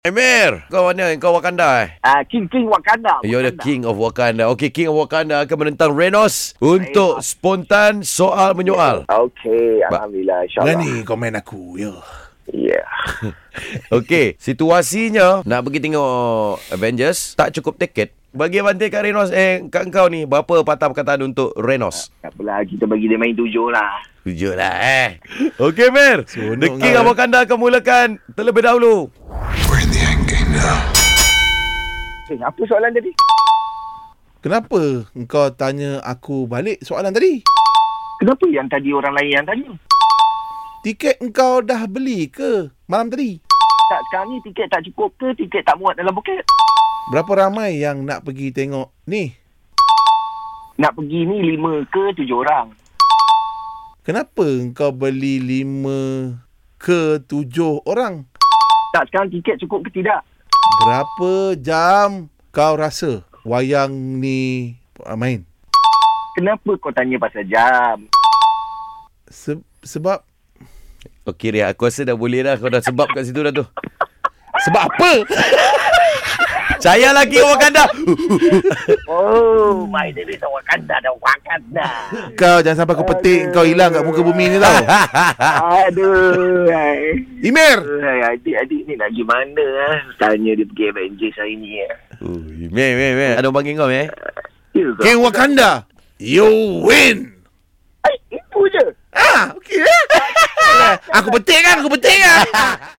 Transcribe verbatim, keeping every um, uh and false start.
Emir, kau mana? Kau Wakanda eh? Ah, King King Wakanda. You're the Wakanda. King of Wakanda. Okay, King of Wakanda akan menentang Renos untuk spontan soal menyoal. Okey, alhamdulillah, insyaAllah. Berani komen aku, ya. Ya. Okay, situasinya nak pergi tengok Avengers, tak cukup tiket. Bagi bantai kat Renos, eh, kat kau ni, berapa patah perkataan untuk Renos? Tak apalah, kita bagi dia main tujuh lah. Tujuh lah eh. Okay, Mir. Sonok The King of kau. Wakanda akan mulakan terlebih dahulu. We're in the end game now. Eh, apa soalan tadi? Kenapa engkau tanya aku balik soalan tadi? Kenapa yang tadi orang lain yang tanya? Tiket engkau dah beli ke malam tadi? Tak, sekarang ni tiket tak cukup ke? Tiket tak muat dalam buket? Berapa ramai yang nak pergi tengok ni? Nak pergi ni lima ke tujuh orang? Kenapa engkau beli lima ke tujuh orang? Tak, sekarang tiket cukup ke tidak? Berapa jam kau rasa wayang ni uh, main? Kenapa kau tanya pasal jam? Se- sebab Okay, Ria, aku rasa dah boleh dah. Kau dah sebab kat situ dah tu. Sebab apa? Saya lagi Wakanda. Oh, my name is Wakanda dan Wakanda. Kau jangan sampai kau petik kau hilang kat muka bumi ni tau. Aduh. Ay. Emir! Ay, adik-adik ni nak gimana ah? Tanya dia pergi Avengers hari ni ah. Oh, Meh, meh, meh. Ada orang panggil kau, meh? Ya ke? King Wakanda, you win! Ay, itu je. Ah, okey eh? Aku petik kan? Aku petik kan?